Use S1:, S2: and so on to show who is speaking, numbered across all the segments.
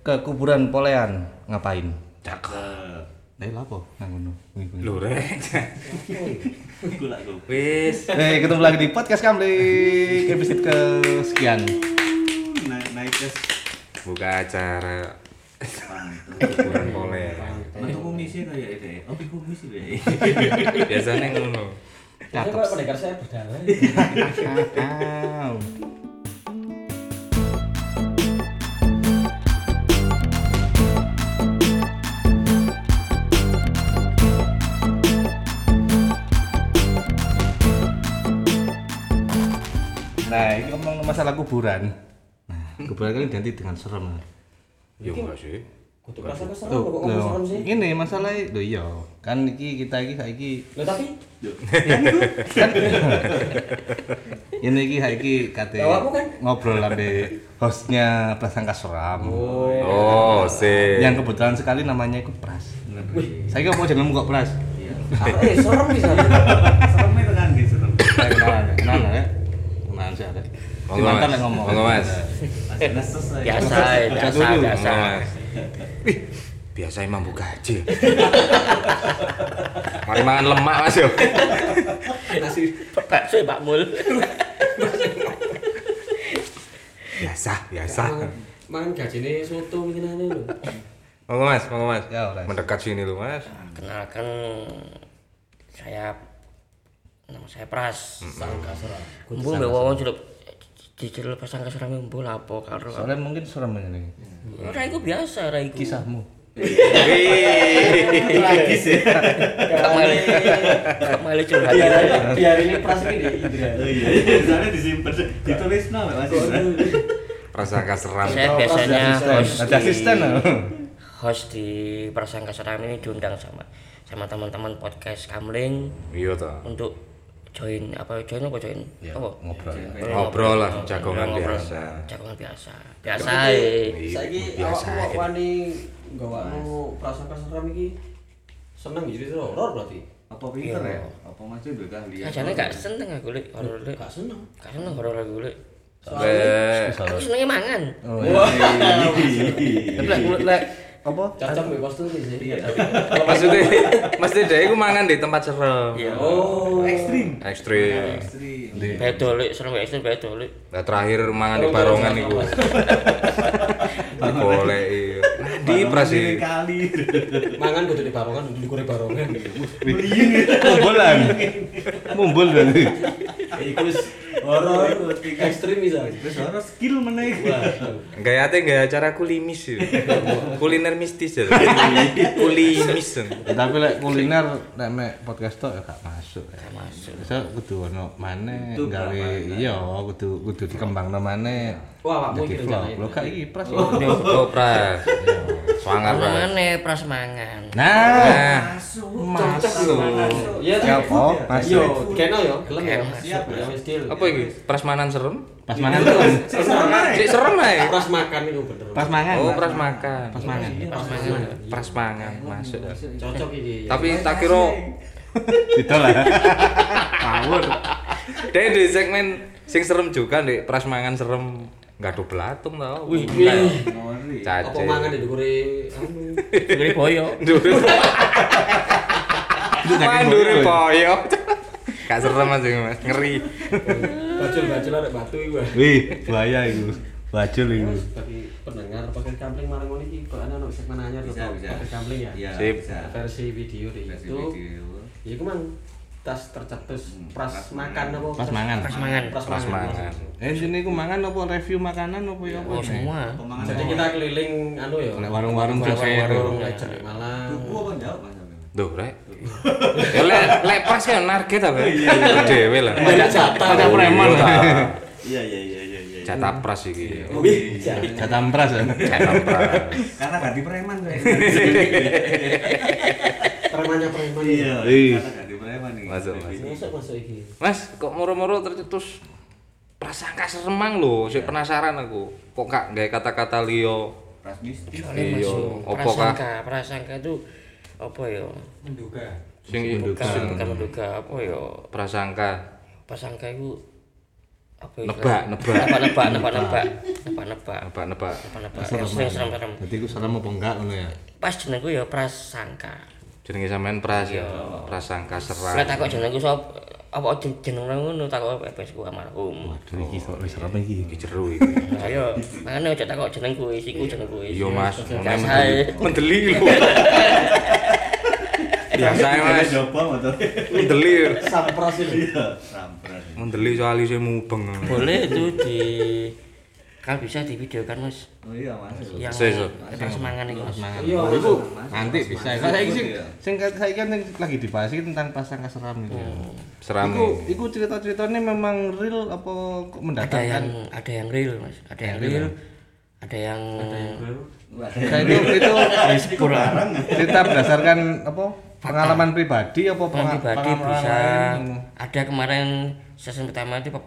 S1: ke kuburan Polean ngapain?
S2: Cakep.
S1: Lah apa? Nang ngono.
S2: Lho rek. Wis.
S1: Ketemu lagi di podcast Kamling episode kesekian.
S3: Naik tes
S2: Buka acara kuburan Polean.
S3: untuk komisi kayak itu. Oh, komisi deh.
S2: Biasanya ngono.
S1: Cakep.
S4: Kok pendekar saya berdarah.
S1: Nah, ini ngomong masalah kuburan. Nah, kuburan kan identik dengan serem.
S2: Ya enggak sih.
S4: Kudu rasa keserem
S1: Tuh,
S4: kok ngomong serem sih.
S1: ini masalahnya, lho iya. Kan kita saiki
S4: Lho tapi
S1: ini saiki kate
S4: Awakmu kan?
S1: ngobrol sampe hostnya Prasangka Seram.
S2: Oh, sih.
S1: Yang kebetulan sekali namanya itu Pras. Saya kok mau jenengmu kok Pras.
S4: serem bisa.
S3: Seremnya tekan gitu serem.
S1: Saya kenalan ya. Kenalan sih ada.
S2: Monggo,
S1: Mantan
S2: Mas.
S1: yang ngomong.
S2: Monggo, Mas.
S4: Biasa.
S2: Wih, biasa emang buka gaji. Mari mangan lemak Mas yo.
S4: Nasi bakso Pak Mul.
S2: Biasa.
S4: Mangan gajine soto ngene lho.
S2: Monggo Mas.
S1: Ya, Mas.
S2: Mendekat sini lu Mas.
S5: Kenalkan nama saya Pras.
S4: Sangka serem.
S5: Kumpul mbek wong celup diceluk pasang keseram mbul apa karo.
S1: Soalnya mungkin serem ini.
S5: Ora iku biasa ra iku.
S1: Kisahmu.
S3: Tragis ya.
S5: Kamale curhat.
S4: Biar ini pras ini di Indra.
S3: Oh iya. Misalnya disimpan, ditulis nama masih.
S2: Prasangka seram.
S5: Saya biasanya
S1: Ada asisten.
S5: host di Prasangka Seram ini diundang sama teman-teman podcast Kamling
S2: Iya toh.
S5: untuk join apa?
S1: Ya,
S5: Apa?
S1: ngobrol.
S2: Ngobrol lah, jagongan
S5: Ngobrol.
S2: biasa.
S5: Jagongan biasa. Biasa ae.
S4: Saiki
S2: Biasa
S4: awakmu
S2: aja.
S4: wani gawakmu prasangka serem iki seneng jadi horor berarti.
S3: Apa pinter ya? Apa masih udah keahlian?
S5: Sajane gak seneng aku lek horor lek.
S4: Gak seneng.
S5: Gak seneng horor aku lek.
S2: Lek
S5: Aku senengnya mangan.
S1: Oh, iya. Tapi lek apa?
S4: Cocok mbek kostum iki sih.
S2: maksudnya dia iku mangan di tempat serem.
S5: Iya.
S4: Oh,
S3: Ekstrim.
S2: Ekstrim.
S5: Beda lek, serem gak ekstrim beda lek.
S2: Nah, terakhir mangan di barongan iku. Boleh iya. Di Pras iki.
S3: Kali.
S4: mangan kudu di barongan, di kure barongan.
S1: Mumbulan. Mumbul kan.
S4: Iku wis horor ekstrim bisa.
S3: Terus orang skill mana itu?
S2: Gaya acara kulimis ya. Kuliner mistis ya. Kulimis.
S1: Tapi lek kuliner nek mek podcast tok ya gak masuk.
S5: Gak masuk.
S1: Bisa kudu ono maneh
S3: Kudu
S1: gawe
S3: apa,
S1: iya kudu dikembangno maneh.
S4: Wah, awakmu
S1: Jadi
S4: iki
S1: vlog.
S4: rencanain.
S1: Lho gak iki Pras.
S2: Oh, Pras. Swanger Pras.
S5: Mana pras mangan.
S2: Nah,
S4: Cocok lho. Iya,
S1: Siapa? Masuk.
S4: Yo, kena yo, gelem yo.
S5: Siap,
S4: Ya wis deal.
S2: apa iki? Prasmanan serem?
S1: Pas mangan tuh.
S2: Cek serem ae.
S4: Pras makan itu bener.
S1: Pas mangan.
S2: Oh, pras makan.
S1: Pas mangan.
S2: Pras mangan masuk.
S4: Cocok iki.
S2: Tapi tak kira
S1: Itu lah. Ngawur.
S2: dia di segmen sing serem juga di pras mangan serem gaduh belatung tau.
S4: Wih,
S2: Cace.
S4: apa mangan di dukure anu.
S5: Gede boyo.
S2: Mandure poyo. Gak serem aja Mas, ngeri.
S4: Bacul arek batu iku.
S1: Wih, bahaya iku. Bajul iku.
S4: Bagi pendengar pakai kampling marang ngono iki kok ana segmen anyar to. Pakai kampling ya.
S3: Iya,
S2: Sip.
S3: bisa.
S4: Versi video di
S3: Versi
S4: YouTube.
S3: video.
S4: Ya iku mang tas tercetus pras makan apa?
S1: Pas mangan.
S5: Pras mangan.
S2: Pras mangan.
S1: Sini ku mangan apa review makanan apa ya apa?
S5: Oh semua.
S3: Pemangan.
S4: Jadi kita keliling anu ya.
S1: Nek warung-warung
S4: warung Legend di Malang.
S3: Duku apa jawab Mas?
S2: Duh, rek. Ya lek pras kan narget apa? Dewe lah.
S4: Banyak jatah.
S1: Ada preman.
S3: Iya.
S2: Jatah pras iki.
S4: Wih,
S1: Jatah pras.
S2: Jatah pras.
S3: Karena ganti preman tuh.
S4: premannya preman.
S3: Iya.
S1: Iya.
S3: Karena ganti preman nih.
S2: Masuk.
S4: Masuk iki.
S2: Mas, kok moro-moro tercetus prasangka seremang lho, sik penasaran aku. Kok gak gawe kata-kata liya?
S3: Pras mistis.
S5: Soalnya
S2: Iya,
S5: masuk
S2: apa kah?
S5: prasangka itu apa ya?
S4: Menduga.
S2: Sing
S5: Bukan menduga apa ya?
S2: prasangka.
S5: Prasangka itu apa itu?
S2: Nebak.
S5: Serem.
S1: Jadi aku salah apa enggak ngono ya.
S5: Pas jenengku ya prasangka.
S2: Jenenge sampean Pras ya. Prasangka serang.
S5: Lah takok jenengku sop apa jeneng ngono takok pepes ku almarhum.
S1: Waduh iki kok wis serem iki.
S2: Iki jero iki.
S5: Ayo, makane aja takok jenengku iku jenengku.
S2: Iya Mas,
S5: Sae.
S2: mendeli lho. Biasa Mas.
S3: Coba motor.
S2: Mendeli.
S4: Sampras ini.
S3: Sampras.
S2: Mendeli soal isih mubeng.
S5: Boleh itu di kan bisa divideokan Mas.
S3: Oh iya Mas.
S5: Yang
S2: Sesuk.
S5: semangat itu Mas.
S4: Iya,
S1: Iku nanti bisa. Kalau saiki sing saiki kan lagi dibahas iki tentang prasangka seram itu.
S2: Serame.
S1: Iku cerita-ceritanya memang real apa kok mendatangkan?
S5: Ada yang real Mas, ada yang real, ada yang
S1: Nah, itu cerita berdasarkan apa? Pengalaman pribadi apa
S5: pengalaman pribadi
S1: pengalaman
S5: bisa.
S1: lain?
S5: Ada kemarin season pertama itu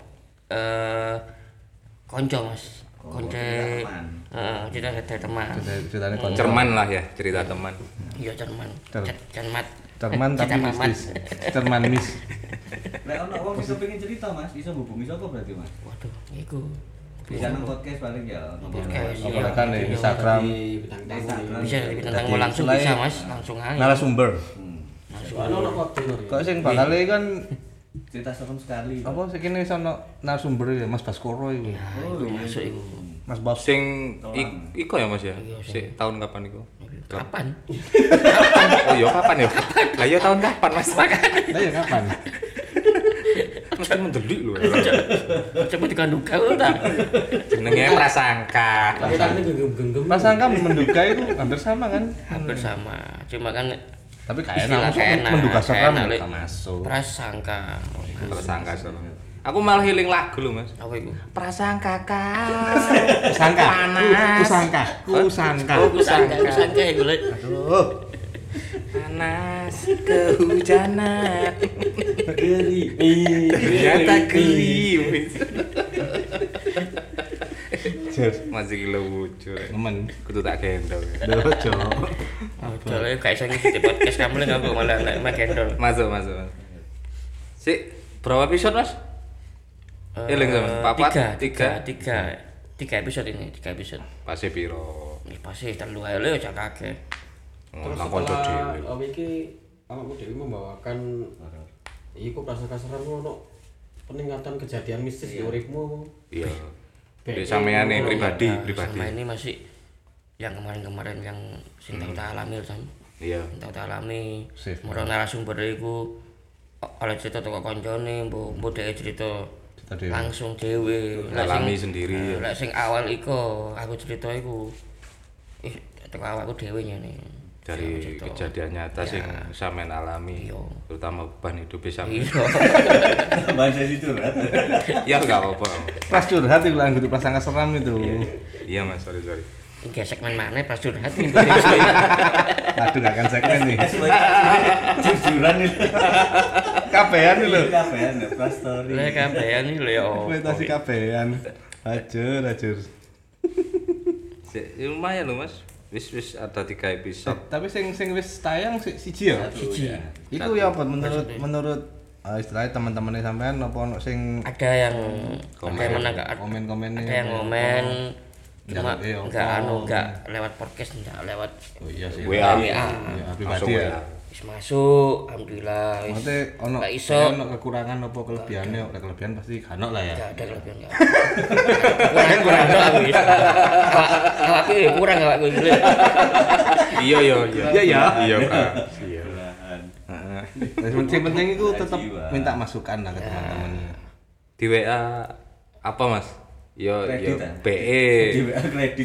S5: konco Mas. Konco cerita dari teman.
S1: Ceritanya konco.
S2: Cerman lah ya, cerita teman.
S5: Iya cerman. Cermat.
S1: Cerman tapi mistis. Cerman mis.
S3: Lek ono wong iso pengen cerita Mas, iso hubungi sapa berarti Mas?
S5: Waduh, iku.
S3: Bisa nang podcast paling ya.
S5: Podcast,
S1: Apa
S5: iya.
S1: kan di Instagram
S5: Bisa tentang langsung bisa Mas, langsung aja.
S1: narasumber.
S4: Ono waktu
S1: Kok sing bakal kan
S3: Cerita serem sekali.
S1: apa sing kene iso ono narasumber ya Mas Baskoro iku.
S5: Iku masuk iku.
S1: Mas Bas.
S2: Sing iko ya Mas ya? Sik tahun kapan iku?
S5: Kapan?
S2: Oh iya kapan ya? Lah iya tahun kapan Mas?
S1: Lah ya kapan?
S2: Mesti mendelik lho.
S5: Coba dikanduka ta.
S2: Jenenge prasangka.
S4: Tangannya genggam-genggam.
S1: Prasangka menduga itu hampir sama kan?
S5: Hampir sama. Cuma kan
S1: Tapi kayak
S5: istilah
S1: enak menduga seram
S5: enak,
S1: ya
S5: Lek.
S1: masuk.
S5: Prasangka.
S2: Prasangka serem. Aku malah healing lagu lho Mas.
S5: Apa iku?
S2: Prasangka kau.
S1: Kusangka.
S2: Panas.
S1: Kusangka. Kusangka.
S5: Oh, kusangka iku Lek.
S1: Aduh.
S2: Panas kehujanan.
S4: Gerimis.
S2: Ternyata gerimis.
S1: Jer.
S2: Masih gila lucu.
S1: Temen.
S2: Kudu tak gendong.
S1: Dojo.
S5: Udah Lek gak iso ngisi podcast kamu Lek aku malah nek gendol.
S2: Masuk. Sik, berapa episode Mas? Eling sama papat
S5: tiga episode ini, 3 episode.
S2: Pase piro?
S5: Ini pasti terlalu aja le aja kakek.
S4: Terus
S2: Langkon
S4: setelah
S2: dhewe.
S4: iki awakmu dhewe membawakan iku prasangka serem ono peningkatan kejadian mistis di uripmu.
S2: Iya. Di sampeane pribadi.
S5: Sama ini masih yang kemarin-kemarin yang sing tau tak alami Sam.
S2: Iya.
S5: Tau tak alami.
S1: Sip.
S5: Moro narasumber iku oleh cerita teko koncone, mbok dhek cerita
S1: Cerita dhewe.
S5: langsung dhewe. Lek
S2: Alami
S5: sing-
S2: sendiri.
S5: Lek sing awal iku aku cerita iku teko awakku dhewe ngene.
S2: Dari
S5: Sing aku cerita.
S2: kejadian nyata sing sampean alami,
S5: Iya.
S2: terutama beban hidup sampean.
S5: Iya.
S3: Bahasa situ kan.
S2: Ya enggak apa-apa.
S1: Pas curhat itu lah gitu prasangka seram itu.
S2: Iya Mas, sorry.
S5: Iki segmen mana pas curhat nih.
S1: Aduh gak akan segmen nih.
S3: Jujuran itu.
S1: Kabehan nih lho.
S3: Kabehan ya, pas story.
S5: Lah kabehan iki lho ya.
S1: Kuitasi kabehan. Ajur.
S2: Lumayan loh Mas. Wis ada 3 episode.
S1: Tapi sing wis tayang siji ya?
S5: Siji.
S1: Iku ya apa menurut istilahnya teman-temannya sampean apa ono sing
S5: Ada yang menang
S1: komen-komennya
S5: ada yang komen cuma
S1: Iya,
S5: enggak lewat podcast enggak lewat
S1: Oh iya sih.
S2: WA.
S1: Ya, pribadi ya.
S5: wis masuk alhamdulillah wis
S1: Maksudnya ono
S5: Nggak iso.
S1: ono kekurangan apa kelebihannya? Oleh kelebihan pasti kan lah ya.
S5: enggak ada kelebihan enggak kurang ada aku wis awakku kurang awakku iki
S2: Iya. Iya, Kak. Iya.
S3: Belahan.
S1: Heeh. Yang penting itu tetap
S3: Jiwa.
S1: minta masukan lah ke teman-temannya.
S2: Di WA apa Mas? Yo
S3: Kredit, ah?
S2: BE.
S3: Di WA kredit.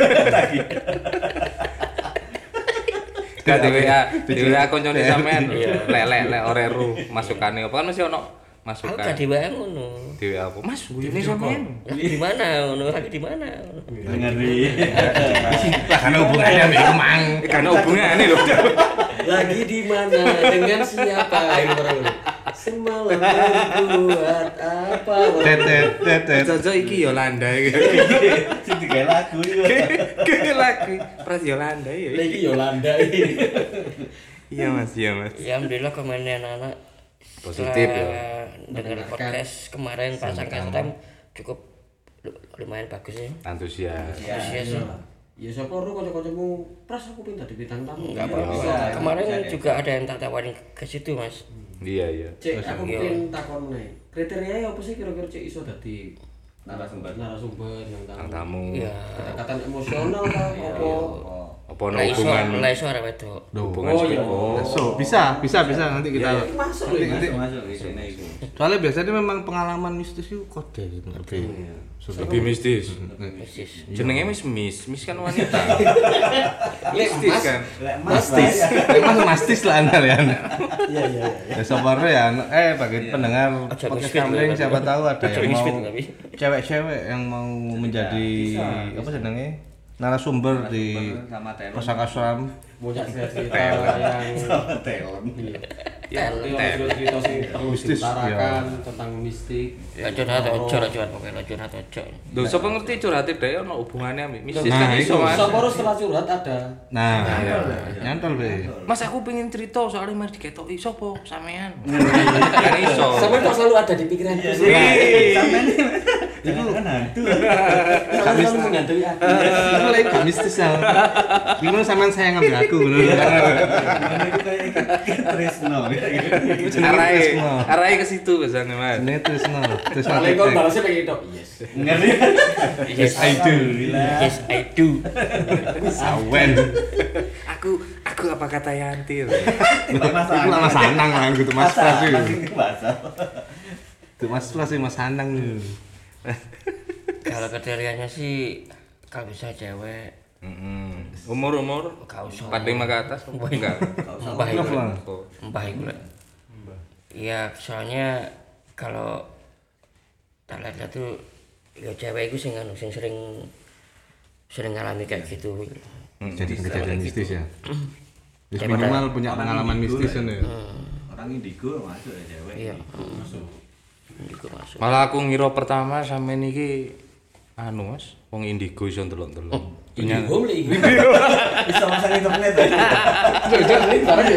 S2: Gak di WA koncone sampean. Lek oreru masukane apa kan mesti ono
S5: aku
S2: masukan.
S5: gak di WA ngono
S2: Di WA apa? Mas, ini sampean.
S5: lagi di mana ngono lagi di mana
S3: Ngeri.
S1: Lah kan hubungannya mbek Mang.
S2: Karena hubungannya lho.
S4: Lagi di mana dengan siapa ini orang ini? Semalam berbuat apa?
S1: Tet.
S2: Jojo iki Yolanda iki.
S3: Sing digawe lagu iki.
S2: Ke lagi Pras Yolanda ya.
S4: Lagi Yolanda ini.
S2: Iya Mas.
S5: ya alhamdulillah komennya anak-anak
S2: Positif ya.
S5: dengan podcast kemarin prasangka serem cukup lumayan bagus ya.
S2: Antusias.
S5: Antusias.
S4: Ya siapa ro kanca-kancamu pras aku pengen dadi bintang tamu.
S5: Enggak apa-apa. Kemarin juga ada yang tak tawarin ke situ, Mas.
S2: Iya.
S4: Cek aku pengen takon nih. Kriterianya apa sih kira-kira cek iso dadi
S3: narasumber
S2: Bintang tamu.
S5: Iya.
S4: Kedekatan emosional kah apa?
S2: Apa no hubungan
S5: Suara wedok.
S2: hubungan
S4: Oh, iya.
S2: psiko.
S1: bisa nanti kita
S4: Masuk
S3: masuk di sini itu.
S1: soalnya biasanya memang pengalaman mistis itu kode gitu
S2: Lebih mistis.
S5: Persis.
S2: Jenenge mis kan wanita. Mistis kan.
S1: mastis emang mastis lah anda ya
S4: Iya.
S1: ya sabarnya ya bagi pendengar
S5: Ojo
S1: podcast
S5: misfit,
S1: kambing
S5: Mas.
S1: siapa tahu ada
S5: Ojo
S1: yang
S5: misfit,
S1: mau
S5: tapi.
S1: cewek-cewek yang mau menjadi apa sedangnya narasumber di
S3: sama talent.
S1: Pusaka Asram
S4: punya cerita yang
S3: Sama talent.
S4: cerita sing perlu
S1: Mistis,
S4: diutarakan tentang mistik.
S5: Ya curhat ojo lah curhat pokoknya curhat ojo.
S2: Lho sapa ngerti curhate dhewe ono hubungannya ambek mistis
S1: Nah,
S2: kan iso
S1: iku.
S2: Mas.
S4: Saporo setelah curhat ada.
S1: nah nyantol be
S2: Mas aku pengen cerita soalnya mas diketoki sapa sampean. Kan iso.
S4: Sampai kok selalu ada di pikiran itu.
S3: Sampeyan itu kan hantu.
S4: Kamu selalu menggantui aku.
S1: itu lagi gak mistis ya gimana sampean sayang ambil aku bener
S3: Mana itu kayak Tresno gitu.
S2: Arahe ke situ biasanya mas.
S1: ini Trisno
S4: Paling kok balasnya pengen itu. Yes.
S3: Ngerti?
S5: Yes I do.
S3: Alhamdulillah.
S5: Yes I do.
S1: sawen
S2: Aku apa kata Yanti?
S1: itu lah Mas Anang lah gitu Mas Pras itu
S3: Bahasa.
S1: itu Mas Pras sih Mas Anang
S5: Kalau kriterianya sih kalau bisa cewek
S2: Umur
S5: gak usah.
S2: 45 ke atas enggak.
S5: Mbah itu.
S1: Kenapa?
S5: Mbah itu. Iya, soalnya kalau tak lihat tuh ya cewek itu sing sering ngalami kayak gitu.
S1: jadi kejadian mistis ya Terus
S5: Daripada-
S1: minimal punya pengalaman mistis kan ya
S3: Orang indigo masuk ya cewek.
S5: Iya. Juga masuk.
S2: Malah aku ngira pertama sampe niki anu Mas, wong indigo iso ndelok-ndelok.
S4: Ini home lagi.
S3: Bisa masang internet.
S4: Internet barang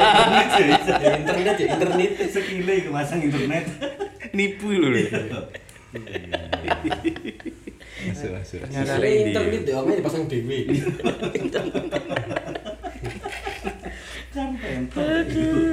S4: ya. Internet.
S3: Sekile iku masang internet.
S2: Nipu lho.
S1: masuk
S2: Ternyata
S4: Ada
S2: ini.
S4: internet deh, omnya dipasang dewe.
S3: Kan pentok.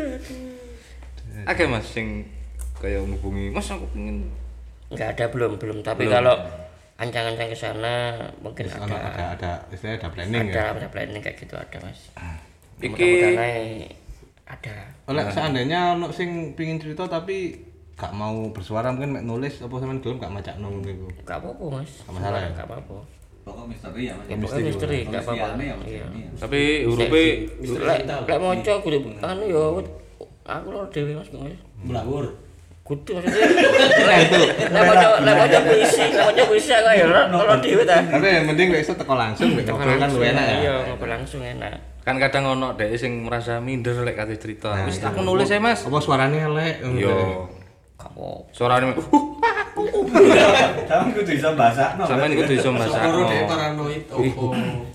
S2: Akeh Mas sing kaya ngubungi, "Mas aku pengen."
S5: Enggak ada belum, tapi kalau ancang-ancang ke sana mungkin
S1: Terus ada istilahnya ada planning
S5: ada,
S1: ya
S5: ada planning kayak gitu ada Mas.
S2: Iki-
S5: Mudah-mudahan aja ada.
S1: oleh seandainya ono sing pingin cerita tapi gak mau bersuara mungkin mek nulis apa sampean gelem gak macakno niku
S5: Enggak apa-apa Mas.
S1: Nggak masalah ya?
S5: Enggak apa-apa.
S3: Pokok misteri ya Mas.
S5: Ya pokoknya misteri enggak apa-apa.
S3: Tulisannya ya, Mas.
S5: Iya.
S2: Tapi hurufe
S5: Lek moco kudu anu ya aku lho dhewe Mas.
S4: Melawur.
S5: Kudu maksudnya. Lek moco puisi aku ya lho dhewe ta.
S1: tapi yang penting gak iso teko langsung mek ngobrol kan luwih enak ya
S5: Iya, ngobrol langsung enak.
S2: kan kadang ono dhek sing merasa minder lek kate cerita. Wis aku nulis ae Mas.
S1: apa suaranya elek
S2: Yo.
S5: Gak apa.
S2: Suarane
S3: Sampeyan kudu iso basakno.
S2: sampean kudu iso
S4: Sepuro
S2: masakno.
S4: deh paranoid. Oh.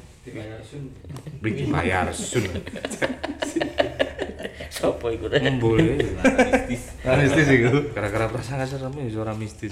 S2: Bayar sun.
S5: Sopo iku teh?
S2: Boleh.
S1: mistis iku
S2: Gara-gara prasangka serem ya suara mistis.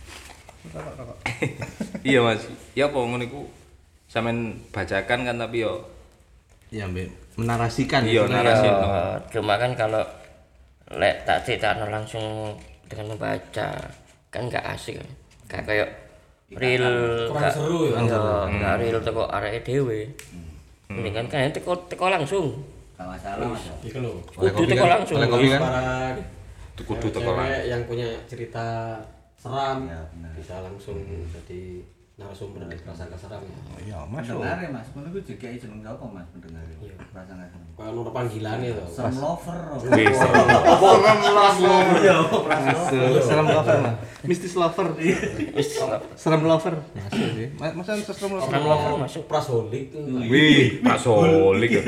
S2: Iya Mas. Ya apa ngono iku sampean bacakan kan tapi yo
S1: ya mbak menarasikan
S2: Iya,
S1: istilahnya.
S2: narasi.
S5: Cuma kan kalau lek tak cerita langsung dengan membaca kan nggak asik kan. Kayak real
S4: Kurang seru ya.
S5: nggak real teko areke dhewe. Mendingan kan teko langsung.
S3: Gak masalah Mas.
S4: Iku lho.
S5: Kudu teko langsung.
S1: oleh kopi kan
S4: Para
S2: kudu teko
S4: cewek yang punya cerita seram
S3: Ya, benar.
S4: bisa langsung jadi narasumber dari prasangka seram.
S1: iya masuk
S3: Pendengar ya Mas. Ngono ku juga jeneng sapa Mas pendengar. Perasaan kan.
S4: Kayak ono panggilan itu.
S3: Sam lover.
S2: Wis.
S3: Iya.
S1: masuk serem lover mah mistis lover
S5: Wis
S1: serem lover masuk sih masa serem lover
S5: serem lover masuk.
S4: Prasolik.
S1: wih
S2: Pasolik.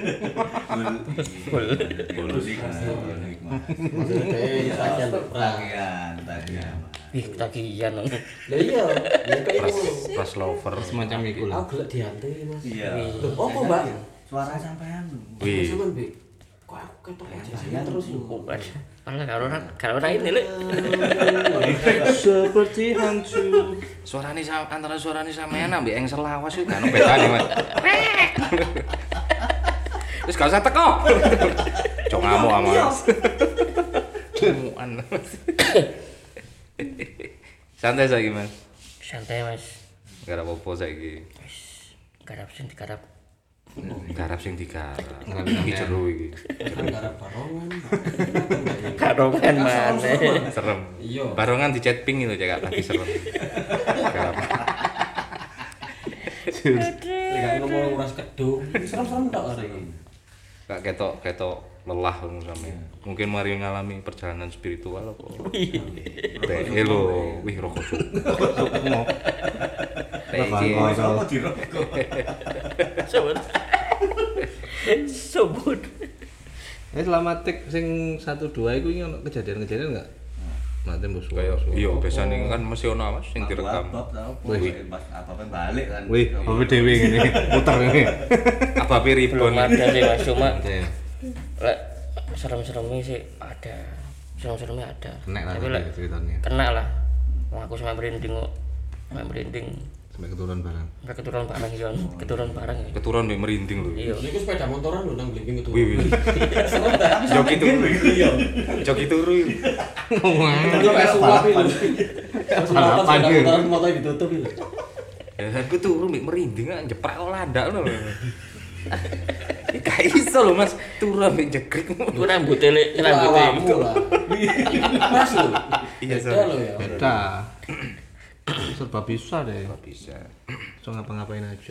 S4: Maksudnya
S3: Tagihan.
S5: Ih, tagihan.
S4: Lah iya, ya kayak ngono.
S2: Pas lover.
S1: semacam itu lah
S4: Aku gelek diantui, Mas.
S3: Iya.
S4: Loh, apa, Mbak?
S3: Suara sampean.
S2: Wih.
S4: Sampean, Bi. kok aku ketok aja terus
S5: bukan. Malah kalau orang ini lek.
S1: Seperti hantu.
S2: Antara suarane sampean ambek engsel lawas iku gak ono bedane, Mas. Wis gak usah teko. Cok ngamuk ama. Cemuan. Santai saiki, Mas.
S5: Santai Mas.
S2: Gak ada apa-apa saiki.
S5: Garap sing digarap.
S2: Garap sing digarap. Iki jero iki.
S4: garap barongan.
S5: Karongan mana?
S2: Serem.
S4: Iya.
S2: Barongan di chat ping itu cek lagi serem. Garap.
S4: Lek ngomong nguras kedung, serem-serem tok arek.
S2: Gak ketok lelah ngono sampe. Mungkin mari ngalami perjalanan spiritual apa. Lho, wih rokok cuk.
S3: Apa dirokok?
S5: Sebut.
S1: Selama tik sing 1 2 iku ono kejadian-kejadian enggak? Mate mbok
S2: Kayak iya biasane kan mesti ono Mas sing direkam.
S3: Apa balik kan.
S1: Wih, apa dhewe ngene muter ngene.
S2: Abape
S5: Belum
S2: ribon.
S5: ada sih Mas, cuma
S1: Iya.
S5: lek serem-seremnya sih ada. Serem-seremnya ada.
S1: Kena lah
S5: Tapi lek
S1: ceritanya.
S5: kena lah. Wah, aku sampai merinding kok. Sampai merinding.
S1: Sampai keturun barang.
S5: Sampai keturun barang ya, keturun barang ya.
S2: Keturun mbek merinding lho.
S5: Iya.
S4: Niku sepeda motoran lho nang Blimbing itu.
S2: Wih. Joki turu.
S4: Iya.
S2: Joki turu.
S4: Itu kayak suap itu.
S1: Salapan gitu.
S4: Motor ditutup itu.
S2: Ya aku turu mbek merinding kan jeprak kok landak ngono lho. Gak iso lho Mas, turu ambek jegrek.
S5: Itu rambutnya lek rambutnya
S4: Awakmu lah. Pas lho.
S2: Iya,
S4: Beda
S2: Sir.
S4: lho ya.
S1: Beda. Serba bisa deh.
S2: Bisa.
S1: So ngapa-ngapain aja.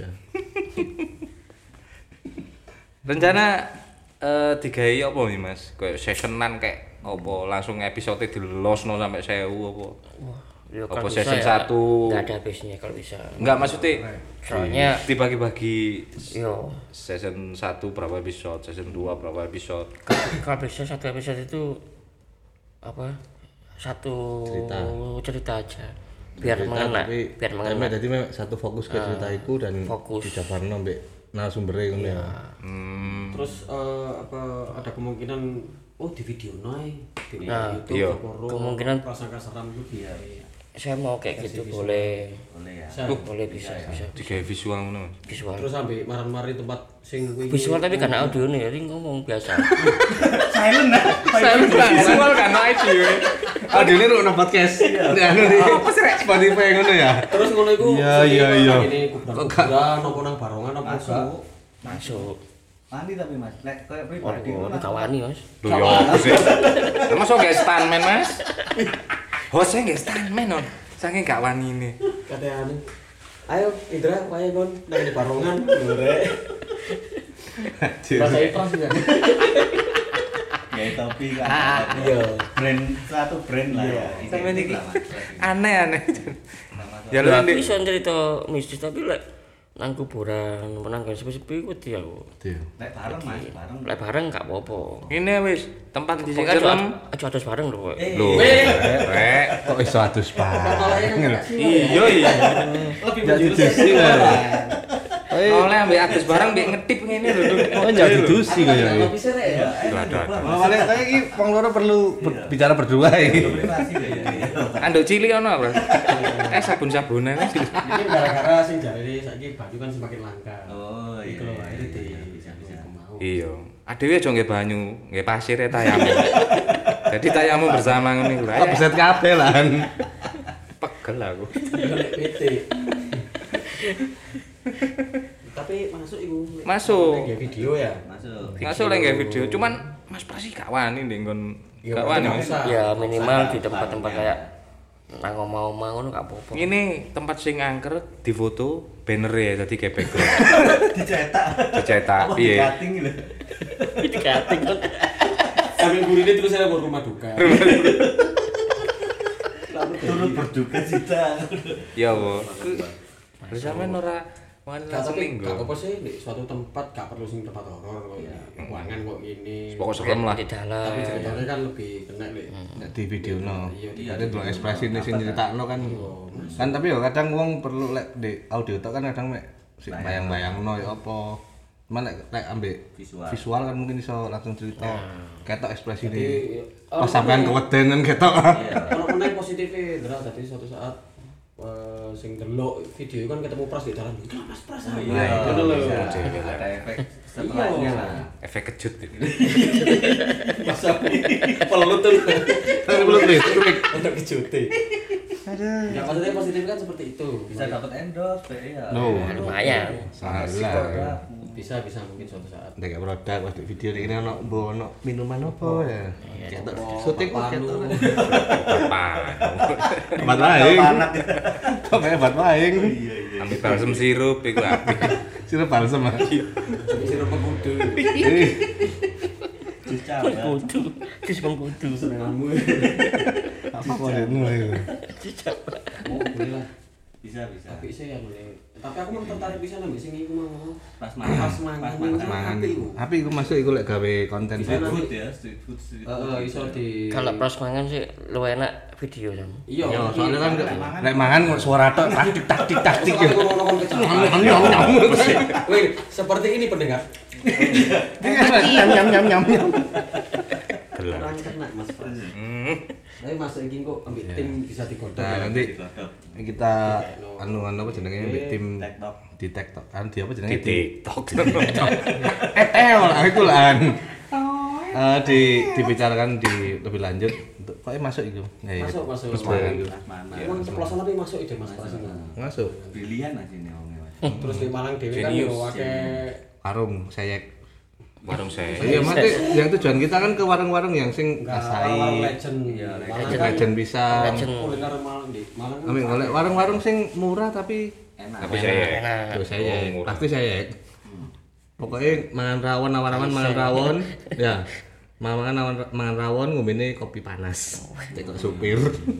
S2: Rencana digawe apa nih Mas? Kayak sessionan kayak apa langsung episode dilosno sampai 1000 apa?
S5: Wah, ya
S2: Apa
S5: kalau bisa
S2: season
S5: ya,
S2: 1?
S5: nggak ada habisnya kalau bisa.
S2: Enggak maksudnya
S5: Soalnya
S2: dibagi-bagi
S5: yo
S2: season 1 berapa episode, season 2 berapa episode.
S5: kalau bisa satu episode itu apa? Satu cerita aja. Biar mengena, biar mengena.
S1: Jadi memang satu fokus ke cerita iku dan
S5: fokus.
S1: dijabarno mbek narasumbere ngono ya.
S4: Terus apa ada kemungkinan di video naik di
S5: Nah,
S4: YouTube
S2: iya.
S4: apa
S5: Kemungkinan-
S4: prasangka seram itu biar
S5: Saya mau kayak gitu boleh.
S3: Boleh ya.
S5: Boleh bisa.
S2: Digawe visual ngono.
S5: Visual.
S4: terus sampai maran-mari tempat sing kuwi
S5: Visual tapi karena audio nih, jadi ngomong biasa.
S3: Silent nah.
S2: Visual kan audio.
S1: Aduh ini lu podcast. Anu nih. Spotify ngono ya.
S4: terus ngono iku
S1: Iya.
S4: ini kuburan apa nang barongan apa
S3: Masuk.
S5: Masuk.
S3: Mandi tapi Mas, lek kayak
S5: Oh,
S3: pribadi
S5: ini kawani mas.
S2: Lho ya apa sih? Mas kok gak stuntman Mas? Hostnya gak stuntman on. Saking gak wani ini.
S4: katanya ayo Indra wae kon nang di barongan lho bahasa ikhlas ya
S3: ya topi kan.
S4: iya
S3: Brand satu brand lah ya.
S2: Sampai
S3: Identik
S2: niki
S3: lah, Mas.
S2: aneh-aneh. Ya lu
S5: Ya
S2: nanti
S5: bisa cerita mistis tapi lek nang kuburan, nang gak sepi-sepi wedi aku.
S1: Iya.
S3: Lek bareng Mas, bareng.
S5: Lek bareng gak apa-apa.
S2: ini wis tempat di sing
S5: Pokoknya
S2: serem.
S5: aja aja bareng lho.
S2: Lho, rek.
S1: Kok iso adus pak?
S2: Iya iya.
S4: lebih
S1: Enggak
S4: menjurus
S1: didusi kan.
S2: Oleh ambek adus barang mbek ngetip ngene lho.
S1: Oh enggak didusi kaya.
S4: tapi sih rek ya
S2: Ada.
S1: Oh, paling kayak iki wong loro perlu bicara berdua iki.
S3: Privasi ya.
S2: Anduk cilik ono, Bro. Sabun-sabunan sih.
S4: ini gara-gara sing jare saiki banyu kan semakin langka
S3: Oh iya.
S4: Iku lho, akhirnya di
S3: bisa.
S4: mau
S2: Iya. Adewe aja nggih banyu, nggih pasir ya tayamu. Jadi tayamu bersama ngene iku.
S1: Lah beset kabeh lan.
S2: Pegel aku.
S4: golek PT tapi masuk iku
S2: Masuk.
S4: Nge video ya
S3: Masuk.
S2: Masuk lek nggih video, cuman Mas Prasi gak wani ndek nggon
S4: Iya,
S2: gak wani.
S4: nggak
S2: Mas.
S4: usah.
S5: Ya minimal di tempat-tempat kayak nang omah-omah ngono gak apa-apa.
S2: Ini tempat sing angker difoto banner ya dadi kayak background.
S3: Dicetak.
S2: Dicetak,
S3: Apa
S2: piye?
S3: di-cutting lho.
S5: Itu kating kan.
S4: sambil gurine terus saya buat rumah duka
S3: Turut berduka cita.
S2: Ya, Bu. Terus sampean ora wani
S4: Gak
S2: langsung
S4: tapi
S2: minggu.
S4: gak apa sih di suatu tempat gak perlu sing tempat horor kok ya ruangan kok gini
S2: Pokok serem lah.
S5: Di dalam.
S4: tapi ceritanya kan lebih kena nih
S1: Nek di video no.
S4: Iya,
S1: Ada dua ekspresi nih sing nyeritakno kan. Kan tapi ya kadang wong perlu lek di audio tok kan kadang mek sik bayang-bayangno ya apa. Cuman lek ambek visual kan mungkin iso langsung cerita. Ketok ekspresi
S4: Jadi
S1: ini. Pas sampean kewedenan ketok.
S4: kalau meneh positifnya Dra dadi suatu saat sing delok video kan ketemu Pras di dalam itu Mas Pras.
S3: Iya,
S4: ngono lho.
S3: ada efek setelahnya lah.
S2: Efek kejut ini.
S4: Masa pelut tuh.
S1: Belum
S4: Untuk kejute. Ya maksudnya positif kan seperti itu.
S3: Bisa dapat endorse, ya.
S1: No,
S5: lumayan.
S1: salah.
S4: Bisa mungkin suatu saat.
S1: Nek produk pas di video ini ono minuman apa ya? Ketok syuting kok ketok. Obat lain. Pokoknya obat lain.
S2: Ambil balsem sirup iku apik.
S1: Sirup balsem.
S4: Sirup pengkudu.
S5: Pengkudu. Kis pengkudu.
S4: Senenganmu.
S1: Apa itu?
S4: Oh, boleh lah.
S3: Bisa.
S4: Tapi sih ya tapi aku mau tertarik bisa nambah sing iku mau.
S3: Pas mangan.
S1: Mangan. Tapi iku masuk iku lek gawe konten
S3: Street
S1: sih.
S3: food ya, street food.
S4: Iso di
S5: Kalau pros mangan sih luwih enak video sama.
S4: Iya,
S1: Ya, soalnya kan lek mangan kok suara tok taktik ya.
S4: Wih, seperti ini pendengar.
S1: Nyam.
S4: Kurang kena Mas Pras. Tapi masuk iki kok ambil tim bisa digodok.
S1: Nah, nanti kita anu apa jenenge ambek tim
S3: TikTok.
S1: di TikTok kan di apa
S2: Di
S1: jenenge
S2: TikTok.
S1: aku lah dibicarakan di lebih lanjut untuk kok masuk itu
S4: Masuk.
S1: terus mangan
S4: Emang ceplosan tapi masuk ide Mas Pras ini.
S1: masuk
S3: Brilian aja nih omnya.
S4: Terus di Malang dhewe kan yo akeh
S1: warung sayek
S2: Warung saya.
S1: iya mati yang tujuan kita kan ke warung-warung yang sing
S4: warung
S1: asai
S4: legend.
S3: Iya,
S4: Malang kan
S1: legend bisa
S5: Legend.
S4: kuliner Malang di Malang.
S1: Amin golek warung-warung sing murah tapi
S3: Enak.
S2: Tapi saya.
S5: Enak.
S1: yo sayek
S2: Oh, murah.
S1: pasti sayek pokoknya mangan rawon awan-awan mangan rawon ya mangan rawon ngombene kopi panas tekok supir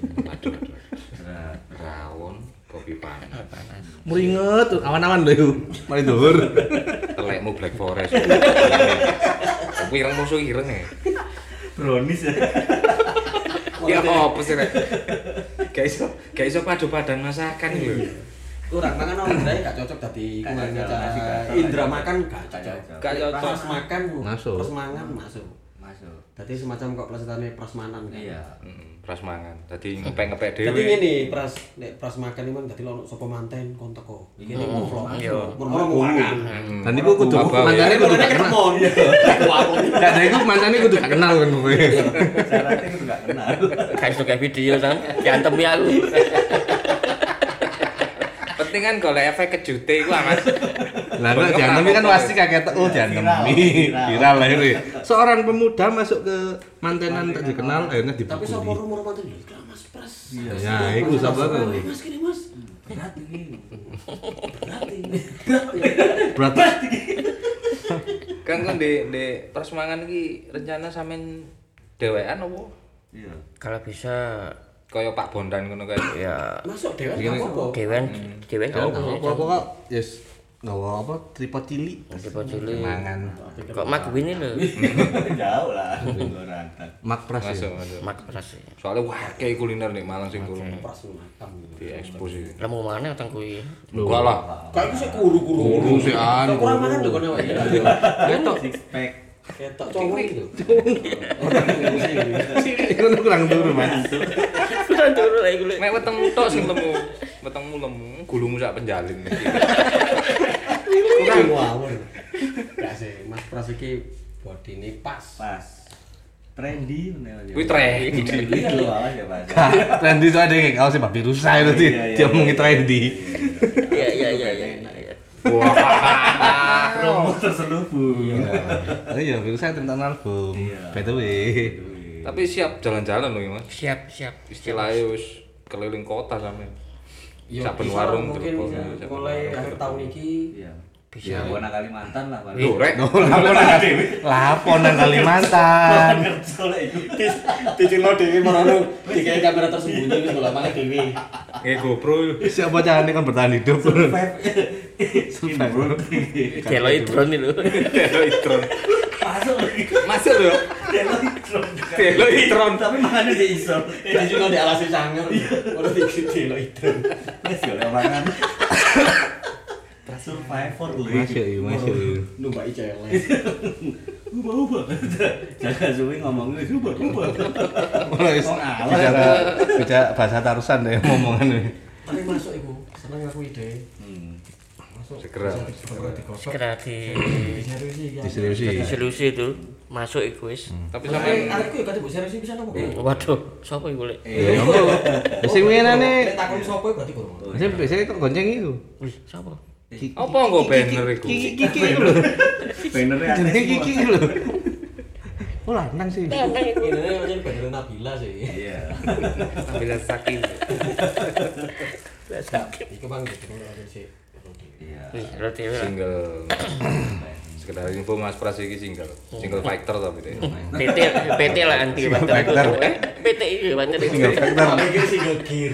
S2: Rawon kopi panas.
S1: muringet awan-awan lho mari dhuwur
S2: Telekmu Black Forest. Aku ireng musuh ireng ya.
S3: Brownies ya.
S2: Ya apa sih rek? Gak iso padu-padan masakan lho.
S4: Kurang mangan orang Indra gak cocok tadi
S3: Gak
S4: kurangnya
S3: cocok,
S4: cara
S3: gak
S4: Indra
S3: cocok.
S4: makan gak cocok.
S2: Gak cocok.
S4: Pas makan
S1: Masuk.
S4: Pas mangan masuk.
S3: Masuk.
S4: Tadi semacam kok plesetane prasmanan kan.
S3: Iya.
S2: Pras mangan. Dadi ngepek-ngepek
S4: Jadi
S2: dhewe.
S4: ngene pras nek pras makan iki dadi ono sapa manten kon teko. Iki mau vlog.
S5: Yo.
S4: Murmur mau makan.
S1: dan iku kudu
S2: Apa,
S1: mantane
S2: ya?
S1: kudu gak kenal
S4: Kemon.
S1: gak ada iku mantane kudu gak kenal kan kowe
S3: Syaratnya itu nggak kenal.
S5: Kayak suka video kan, diantemi aku.
S2: Penting kan golek efek kejute iku amat.
S1: lah nek diantemi kan pasti kaget oh diantemi viral lah ini seorang pemuda masuk ke mantenan tak dikenal akhirnya
S4: Tapi sapa
S1: dipukuli
S4: rumor manten iki Mas Pras.
S1: ya iku sapa kan
S4: Mas kene Mas.
S3: Berat ini.
S1: berat
S2: Kan kon di pras mangan iki rencana sampean dhewean apa?
S3: Iya.
S5: Kalau bisa
S2: Kaya Pak Bondan ngono kae.
S5: ya
S4: Masuk dewan
S1: Gini.
S4: apa?
S5: dewen
S1: ya
S5: kan
S1: apa yes gawa apa tripod cilik
S5: tripod cilik.
S1: mangan
S5: Kok mak ini lho.
S3: Jauh lah. Gorantan.
S1: mak pras ya
S2: Masuk.
S5: Mak pras.
S2: Soalnya akeh kuliner nih Malang sing kurang
S4: Pras makan.
S2: diekspos iki.
S5: Lemu mana utang kuwi.
S2: Enggak lah.
S4: Kayak iku sik kuru-kuru.
S1: Kuru sih, an.
S4: Kurang mangan lho kono wae.
S1: ketok
S3: Six pack.
S4: Ketok cowok itu.
S1: iku kurang turu mas
S5: Kurang turu lagi kuwi.
S2: Mek weteng tok sing lemu. Wetengmu lemu, gulumu sak penjalin.
S4: Kurang ngawur. Gak sih, Mas Pras iki bodine pas.
S3: Pas. Trendy bener aja.
S2: Kuwi trendy.
S3: Itu awas ya, Pak.
S1: trendy itu ada kayak kau sih babi rusa itu sih dia ngomongin trendy
S5: Iya iya iya iya.
S3: Promo terselubung.
S1: oh iya babi rusa tentang album
S3: Iya.
S1: by the way
S2: Tapi siap jalan-jalan loh, Mas.
S5: Siap siap.
S2: Istilahnya wis keliling kota sampe.
S4: Yo,
S2: Saben
S4: bisa
S2: warung
S4: mungkin
S2: telepon,
S4: bisa.
S2: saben
S4: Mulai
S2: warung
S4: akhir
S2: telepon.
S4: tahun iki
S3: Iya.
S5: Bisa.
S3: Ya, Buana Kalimantan lah, Pak.
S2: Loh, rek.
S1: laponan Kalimantan
S4: dicilo dhewe merono dikai kamera tersembunyi wis golek maneh dhewe.
S2: GoPro.
S1: siapa caranya kan bertahan hidup
S5: Deloitron itu.
S2: Deloitron.
S3: Masuk lagi.
S2: Masuk lho. Deloitron.
S3: Tapi makannya dia iso.
S4: Dicilo di alase sangar. Ora dicilo itu.
S3: Wes yo lek mangan. Survivor lho.
S1: Masuk.
S4: Numpai celeng.
S3: Ubah. Jaga suwi ngomong wis ubah.
S1: Mulai bicara bahasa Tarusan deh ngomongan ini.
S4: Tapi masuk iku, seneng aku ide. Masuk.
S2: Segera.
S4: digosok.
S5: Segera
S4: Diseriusi.
S1: Diseriusi.
S5: itu masuk iku wis.
S2: Tapi
S4: Sampai
S2: sampean
S4: arek ku kate mbok seriusi pisan apa?
S5: Waduh, sapa iku lek?
S1: Ya apa? Sing menane
S4: Nek takon sapa berarti kurang.
S1: sing biasanya kok gonceng iku.
S5: Wih, sapa?
S2: apa nggo banner iku?
S1: Kiki iku lho.
S3: Bannernya
S1: Jenenge
S3: akeh
S1: Kiki
S3: semua.
S1: iku lho. Oh lanang sih.
S4: Ini macam bener Nabila sih.
S3: Iya.
S2: Bila saking.
S4: Iku bang gitu sih.
S3: Iya.
S5: Wih, roti lah.
S2: Single. Sekedar info Mas Pras iki single. Single fighter tapi deh.
S5: PT lah anti
S1: Factor.
S5: PT iki pancen
S1: Single factor.
S4: Iki single gear.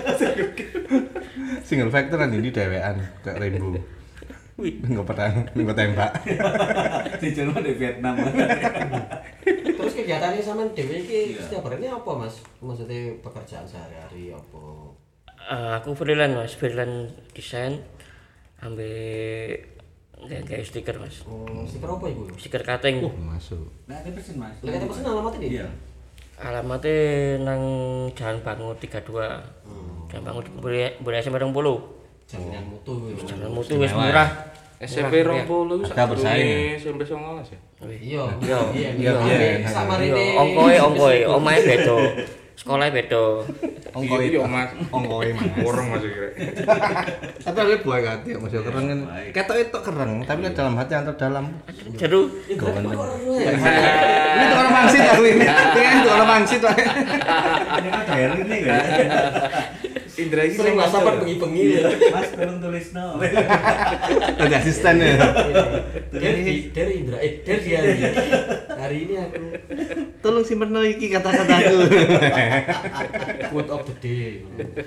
S1: Single factor kan ini dewean kayak Rainbow. Nggak pedang, nggak tembak.
S3: Dijelma di Vietnam.
S4: Terus kegiatannya sama Dewi iki
S3: Iya.
S4: setiap hari ini apa Mas? Maksudnya pekerjaan sehari-hari apa?
S5: Aku freelance desain ambil kayak stiker Mas.
S4: Stiker apa ibu?
S5: Stiker cutting.
S1: Masuk.
S3: Nah, ada pesen Mas.
S4: Lagi ada pesen alamatnya nih?
S3: Iya.
S5: Alamatnya nang Jalan Bangun 32. Jalan Bangun boleh SMP 20.
S4: Jaminan mutu.
S5: Jalan mutu wis murah.
S2: SMP 20
S1: Agak bersaing,
S2: SMP 19 ya.
S4: Iya.
S1: Iya.
S4: Sama
S5: Iya,
S4: ini.
S5: ongkoe, omahe beda. Sekolahnya beda.
S1: Ongkoi
S2: Iya, Mas.
S1: Ongkoi Mas.
S2: Orang masih kira.
S1: Tapi ada buah hati ya Mas ya kereng kan. Ketok itu kereng, tapi nek dalam hati yang terdalam.
S5: Jeru.
S1: Ini tuh orang mangsit aku ini. Ini tuh orang mangsit Pak.
S3: Ini kan diary nih kan.
S2: Indra iki
S4: Sering
S2: sing
S4: WhatsApp bengi-bengi ya.
S3: Mas tolong tulis no.
S1: Ada asisten ya.
S4: Dari Indra, dari dia. Hari ini aku
S1: Tolong simpen iki kata-kataku.
S4: quote of the day.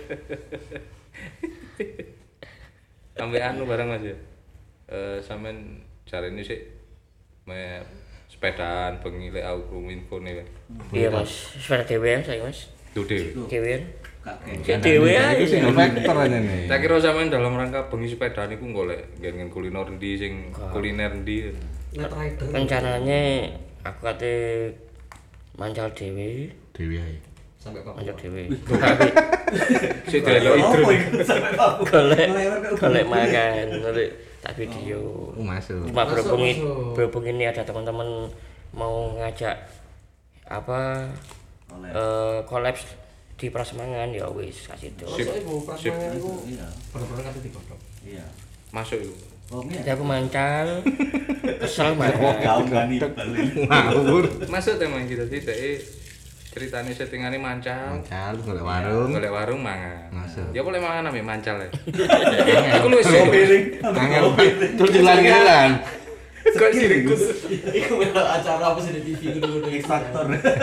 S2: sampai anu barang Mas ya. Sampean jarene sik me sepedaan bengi lek aku infone kan.
S5: Iya Mas, sepeda dhewean saya Mas.
S2: Tuh dhewe.
S5: Dhewean.
S3: Kakek.
S5: Dhewean.
S1: Itu single factor aja nih.
S2: Tak kira sampean dalam rangka bengi sepedaan iku golek nggen kuliner endi sing kuliner endi.
S4: Net rider.
S5: Rencananya aku kate mancal dhewe,
S1: Dewi ae.
S4: Sampai Papua.
S5: mancal dhewe.
S2: Sik delok
S3: Oh,
S2: idrun.
S3: sampai Papua.
S5: Golek makan, golek tak video.
S1: Masuk.
S5: Cuma berhubung
S4: masuk.
S5: berhubung ini ada teman-teman mau ngajak apa kolaps di Prasemangan ya wis kasih itu.
S4: Masuk ibu, prasmanan ibu.
S3: Iya.
S4: Bener-bener kata digodok.
S3: Iya.
S2: Masuk iku.
S3: Oh, iya.
S5: Jadi aku mancal, kesel banget.
S3: Kau gani balik.
S1: Ngawur.
S2: Masuk teman kita tidak ceritane settingane mancal.
S1: Mancal golek warung.
S2: Golek warung mangan.
S1: Masuk.
S2: Ya boleh mangan ame mancal ya. Iku lu iso.
S1: Angel terus dilan-dilan.
S2: Kok sirkus.
S4: Iku acara apa sih di TV dulu
S3: X Factor.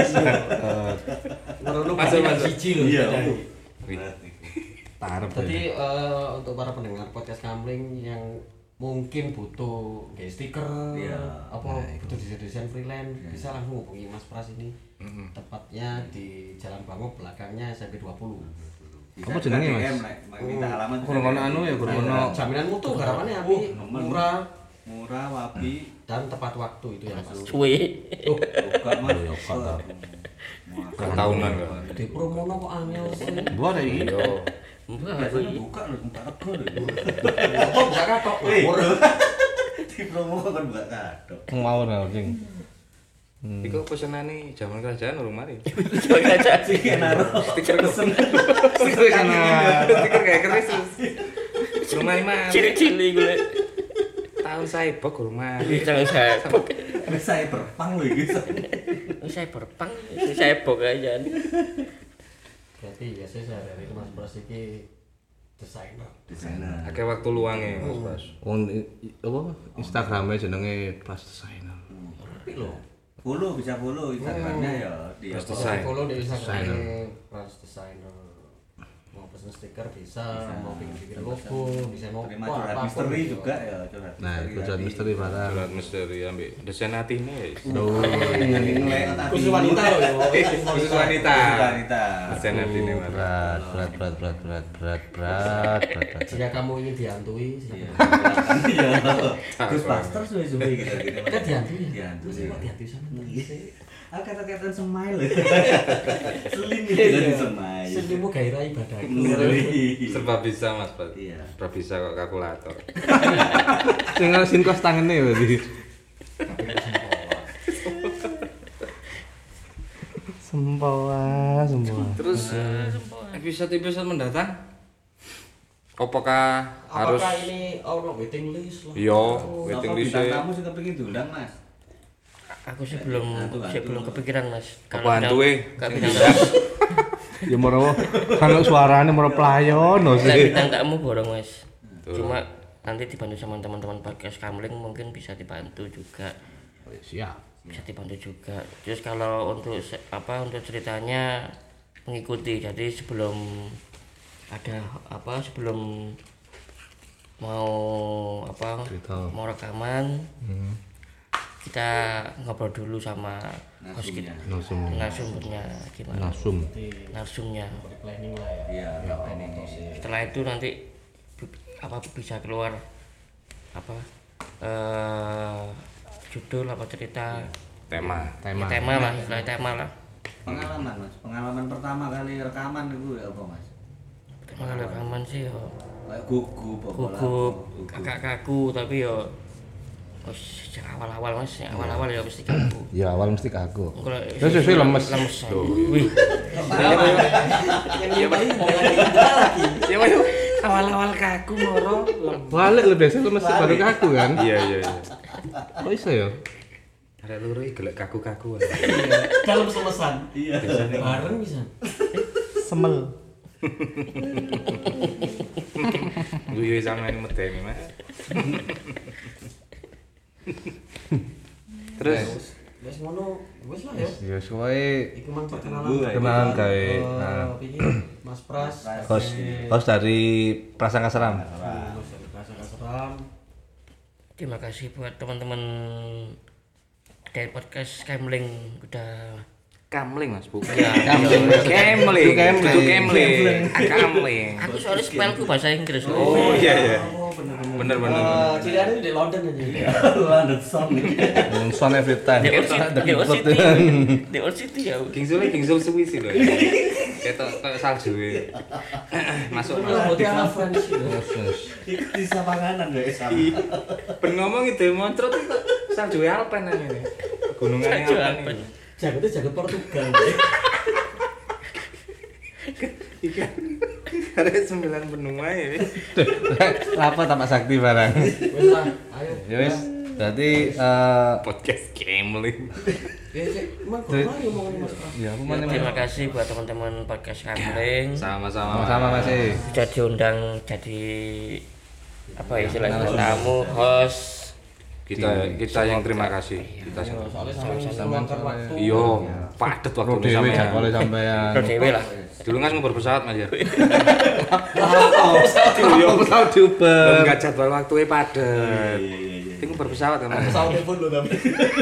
S4: Merono
S2: Masuk,
S4: pasti
S2: masuk.
S4: siji loh.
S3: Iya.
S2: Wih.
S1: Tarep.
S4: Jadi untuk para pendengar podcast Kamling yang mungkin butuh kayak stiker,
S3: Iya.
S4: apa butuh desain freelance, bisa langsung hubungi Mas Pras ini. Tepatnya di Jalan Bangun, belakangnya SMP 20.
S1: Apa jenenge, Mas?
S3: Minta alamat.
S1: Kurang ono anu ya, kurang ono.
S4: Jaminan mutu garapannya api, murah
S3: Murah, wapi.
S4: dan tepat waktu itu ya Mas.
S5: Suwe.
S3: Buka Mas.
S2: Tahunan kan.
S4: Di promono kok angel sih.
S1: Buat iki.
S2: Yo.
S3: Biasanya buka loh, buka rego loh.
S4: Apa buka katok? Ngawur.
S3: Di promo kan buka kadok.
S1: Ngawur anjing.
S2: Iku pesenane jaman kerajaan urung mari.
S3: Sing naruh.
S2: Stiker kesen.
S1: Stiker kana.
S2: Stiker kayak keris. Urung mari.
S5: Cili-cili gue.
S2: Tahun cyber urung mari.
S5: Jangan saya bok.
S3: Saya berpang loh gitu.
S5: Saya berpang, saya bok aja.
S4: Berarti biasanya sehari-hari itu Mas Pras ini desainer.
S3: Desainer.
S2: Akeh waktu luangnya Mas Pras.
S1: Wong apa Instagramnya jenenge Pras Designer.
S4: Tapi loh.
S3: Follow bisa follow Instagramnya ya di
S2: Pras
S3: apa?
S2: Design.
S4: Follow di Instagram Pras Designer. pesen stiker bisa, mau bikin logo, desain logo,
S3: terima curhat misteri juga ya, curhat
S1: Nah, curhat misteri barang.
S2: Curhat misteri ambek desain atine ya.
S4: khusus wanita loh ya.
S2: Khusus wanita.
S3: wanita
S2: Desain atine
S1: Berat.
S4: Jika kamu ingin dihantui,
S3: iya
S4: silakan.
S3: Ghostbusters suwe-suwe gitu
S4: Kan dihantui.
S3: dihantui
S4: Terus kok dihantui sama
S3: ah kata-kata semai loh selim gitu dari semai
S4: Selimmu gairah ibadah.
S2: serba bisa Mas Pat.
S3: Iya.
S2: Serba bisa kok kalkulator.
S1: Sing kos tangene berarti. Sempoa.
S2: Terus episode mendatang apakah harus
S4: Apakah ini waiting list lah?
S2: yo
S3: Apa
S2: waiting
S3: bintang
S2: list
S3: tamu sih kepengin diundang Mas
S5: Aku sih belum kepikiran Mas.
S2: apa hantu
S5: Gak bintang tamu.
S1: Ya moro kalau suarane moro playon no
S5: Lek
S1: sih.
S5: bintang tamu borong Mas. Cuma nanti dibantu sama teman-teman podcast Kamling mungkin bisa dibantu juga.
S1: Siap.
S5: Bisa dibantu juga. Terus kalau untuk untuk ceritanya mengikuti. Jadi sebelum mau
S1: Cerita.
S5: mau rekaman kita ngobrol dulu sama host kita, narasumbernya gimana, narsumnya.
S4: Planning lah ya.
S3: iya planning
S5: Setelah itu nanti bisa keluar judul cerita
S2: tema
S5: tema lah, istilah tema lah.
S3: pengalaman pertama kali rekaman itu ya apa Mas
S5: Tema rekaman sih yo
S3: kayak gugup
S5: kakak kaku tapi yo sejak awal-awal Mas, awal-awal ya mesti kaku.
S1: Ya awal mesti kaku.
S5: Kalau
S1: Terus lemes.
S5: Wih. Ya Mas, awal-awal kaku moro.
S1: Balik lebih biasa lemes baru kaku kan?
S2: iya
S1: Kok iso ya?
S2: ada loro iki gelek kaku-kaku
S4: Dalam selesan.
S3: iya
S4: Bareng bisa.
S1: Semel.
S2: guyu sama ini medeni Mas. Terus
S4: Wes ngono, wes lah ya.
S1: Ya suwe
S4: Iku mang perkenalan.
S1: kenalan gawe. Nah,
S4: Iki Mas Pras.
S1: host dari Prasangka Seram.
S4: Mas dari Seram.
S5: Terima kasih buat teman-teman dari podcast Kamling udah
S2: Kamling Mas bukan.
S5: ya.
S2: Kamling. Itu Kamling. Kamling.
S5: Aku soalnya spellku bahasa Inggris loh.
S2: Oh iya.
S4: Oh
S2: Bener.
S4: Ciliannya di London aja.
S3: London Song
S1: Son every time.
S5: The Old City ya.
S2: Kingsul suwi sih lho. Kayak salju. Masuk.
S4: Putih ala French.
S3: ikut bisa panganan ya sama
S2: Ben ngomong ide moncrot kok salju Alpen ini. Gunungane Alpen.
S4: Jagonya jago Portugal.
S2: Ada 9 benua ya.
S1: Apa tapak sakti barang.
S4: Wes lah, ayo.
S1: Ya wis, berarti
S2: Podcast Kamling.
S4: Emang kok mari ngomongin Mas Pras.
S1: ya apa mana
S5: Terima kasih buat teman-teman podcast Kamling
S2: Sama-sama.
S1: sama masih.
S5: sudah diundang jadi istilahnya tamu host.
S2: Kita yang terima kasih. Kita
S4: Soalnya sama meluangkan waktu.
S2: Iya, padet waktu
S1: Dewi
S2: sampean.
S1: jadwalnya sampean.
S5: Pro dewe lah.
S2: Dulu kan ngobrol pesawat Mas ya.
S1: Pesawat di Uber.
S2: Enggak jadwal waktunya padet. Itu ngobrol pesawat kan. Mas?
S4: Pesawat telepon lo tapi.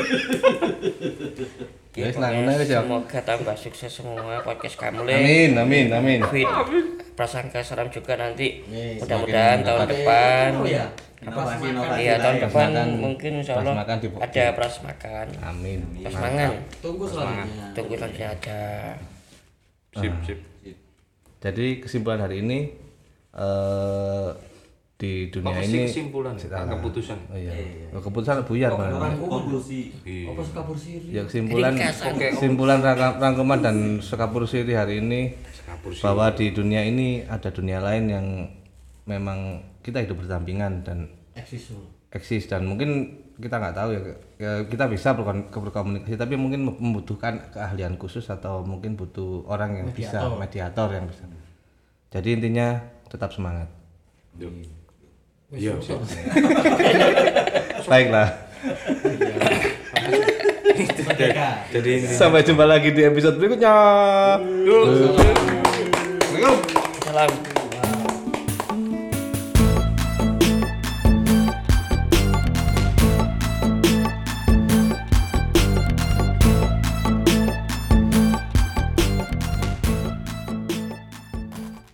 S1: Ya wis
S5: Pokoknya
S1: nang wis ya.
S5: semoga tambah sukses semua podcast Kamling.
S1: Amin.
S5: Fit Prasangka Seram juga nanti
S4: Nih,
S5: mudah-mudahan tahun depan
S4: Oh ya.
S3: inovasi
S5: iya tahun depan
S1: Prasmakan.
S5: mungkin insyaallah
S1: Prasmakan di-
S5: ada prasmakan
S1: Amin.
S5: prasmangan
S4: Tunggu selanjutnya.
S5: tunggu saja ada
S2: Sip.
S1: Jadi kesimpulan hari ini di dunia
S2: Apa
S1: ini
S2: sih kesimpulan? Keputusan.
S1: Oh iya. Keputusan buyar malah.
S3: konklusi
S4: Apa suka bersiri?
S1: Ya kesimpulan
S5: Ringkasan.
S1: rangkuman dan sekapur siri hari ini bahwa di dunia ini ada dunia lain yang memang kita hidup berdampingan dan eksis dan mungkin kita nggak tahu ya kita bisa berkomunikasi tapi mungkin membutuhkan keahlian khusus atau mungkin butuh orang yang bisa mediator yang bisa. Jadi intinya tetap semangat.
S2: Iya, siap.
S1: Baiklah.
S2: Jadi
S1: Sampai jumpa lagi di episode berikutnya.
S4: Kita
S5: Salam.